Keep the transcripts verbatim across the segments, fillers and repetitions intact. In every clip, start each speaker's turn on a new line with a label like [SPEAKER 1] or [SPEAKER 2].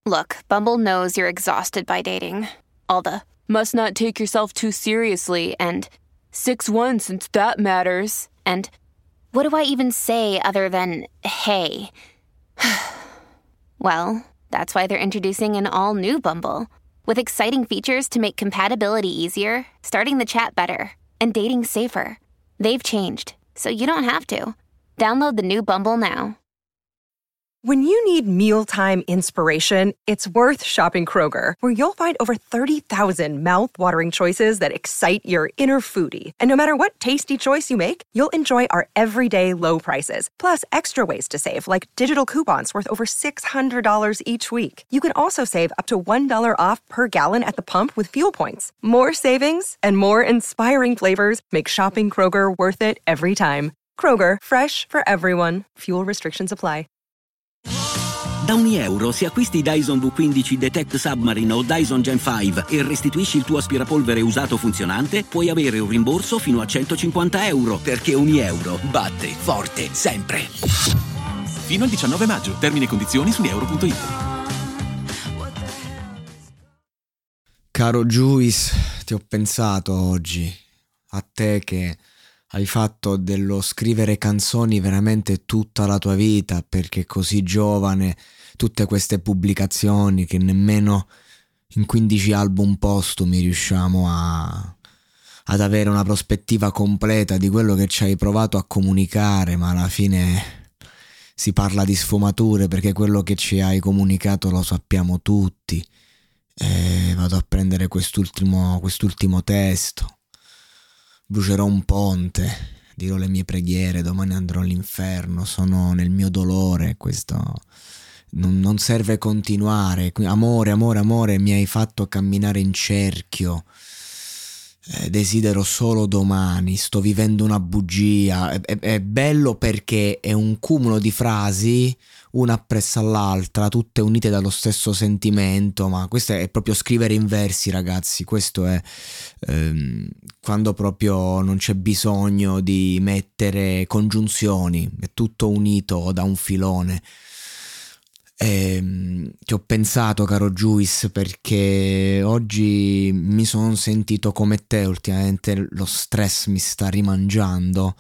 [SPEAKER 1] Look, Bumble knows you're exhausted by dating. All the must not take yourself too seriously and six one since that matters. And what do I even say other than hey? Well, that's why they're introducing an all-new Bumble with exciting features to make compatibility easier, starting the chat better, and dating safer. They've changed, so you don't have to. Download the new Bumble now.
[SPEAKER 2] When you need mealtime inspiration, it's worth shopping Kroger, where you'll find over thirty thousand mouth-watering choices that excite your inner foodie. And no matter what tasty choice you make, you'll enjoy our everyday low prices, plus extra ways to save, like digital coupons worth over six hundred dollars each week. You can also save up to one dollar off per gallon at the pump with fuel points. More savings and more inspiring flavors make shopping Kroger worth it every time. Kroger, fresh for everyone. Fuel restrictions apply.
[SPEAKER 3] Da ogni euro, se acquisti Dyson V quindici Detect Submarine o Dyson Gen cinque e restituisci il tuo aspirapolvere usato funzionante, puoi avere un rimborso fino a centocinquanta euro, perché ogni euro batte forte sempre.
[SPEAKER 4] Fino al diciannove maggio. Termini e condizioni su euro punto it.
[SPEAKER 5] Caro Juice, ti ho pensato oggi, a te che hai fatto dello scrivere canzoni veramente tutta la tua vita, perché così giovane, tutte queste pubblicazioni che nemmeno in quindici album postumi riusciamo a, ad avere una prospettiva completa di quello che ci hai provato a comunicare, ma alla fine si parla di sfumature, perché quello che ci hai comunicato lo sappiamo tutti. E vado a prendere quest'ultimo, quest'ultimo testo. Brucerò un ponte, dirò le mie preghiere, domani andrò all'inferno, sono nel mio dolore, questo non, non serve continuare. Amore, amore, amore, mi hai fatto camminare in cerchio, eh, desidero solo domani, sto vivendo una bugia. È, è, è bello perché è un cumulo di frasi, una appresso all'altra, tutte unite dallo stesso sentimento, ma questo è proprio scrivere in versi, ragazzi. Questo è ehm, quando proprio non c'è bisogno di mettere congiunzioni, è tutto unito da un filone. E, ci ho pensato, caro Juice, perché oggi mi sono sentito come te. Ultimamente lo stress mi sta rimangiando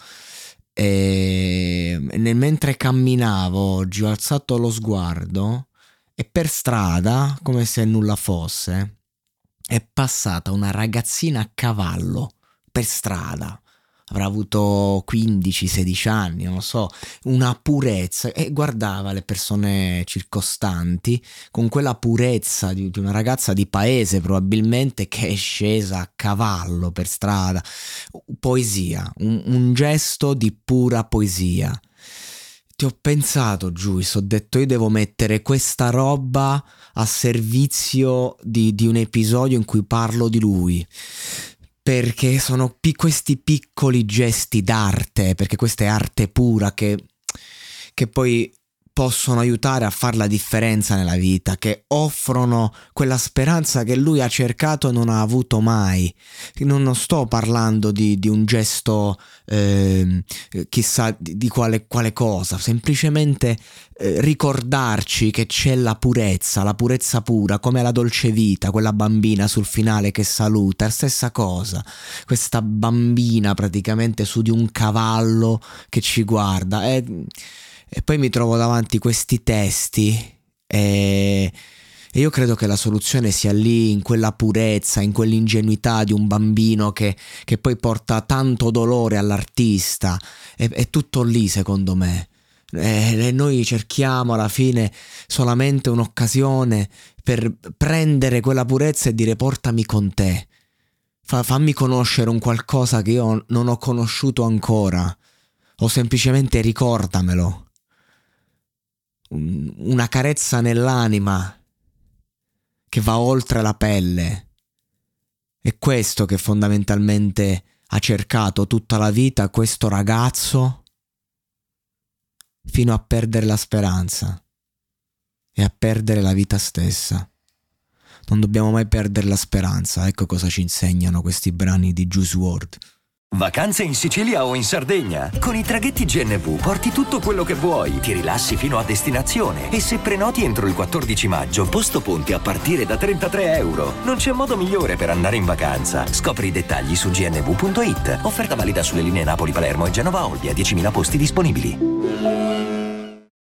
[SPEAKER 5] e nel mentre camminavo oggi ho alzato lo sguardo e per strada, come se nulla fosse, è passata una ragazzina a cavallo per strada. Avrà avuto quindici sedici anni, non lo so, una purezza, e guardava le persone circostanti con quella purezza di, di una ragazza di paese probabilmente, che è scesa a cavallo per strada. Poesia, un, un gesto di pura poesia. Ti ho pensato, Giuis, ho detto io devo mettere questa roba a servizio di, di un episodio in cui parlo di lui, perché sono pi- questi piccoli gesti d'arte, perché questa è arte pura, che, che poi possono aiutare a fare la differenza nella vita, che offrono quella speranza che lui ha cercato e non ha avuto mai. Non, non sto parlando di, di un gesto eh, chissà di, di quale, quale cosa, semplicemente eh, ricordarci che c'è la purezza, la purezza pura, come la dolce vita, quella bambina sul finale che saluta, è la stessa cosa, questa bambina praticamente su di un cavallo che ci guarda. È, E poi mi trovo davanti questi testi e, e io credo che la soluzione sia lì, in quella purezza, in quell'ingenuità di un bambino che, che poi porta tanto dolore all'artista. È, è tutto lì, secondo me. E, e noi cerchiamo alla fine solamente un'occasione per prendere quella purezza e dire portami con te. Fa, fammi conoscere un qualcosa che io non ho conosciuto ancora, o semplicemente ricordamelo. Una carezza nell'anima che va oltre la pelle. È questo che fondamentalmente ha cercato tutta la vita questo ragazzo, fino a perdere la speranza e a perdere la vita stessa. Non dobbiamo mai perdere la speranza. Ecco cosa ci insegnano questi brani di Juice world.
[SPEAKER 6] Vacanze in Sicilia o in Sardegna? Con i traghetti G N V porti tutto quello che vuoi, ti rilassi fino a destinazione e se prenoti entro il quattordici maggio, posto ponti a partire da trentatré euro. Non c'è modo migliore per andare in vacanza. Scopri i dettagli su g n v punto i t. Offerta valida sulle linee Napoli-Palermo e Genova-Olbia, diecimila posti disponibili.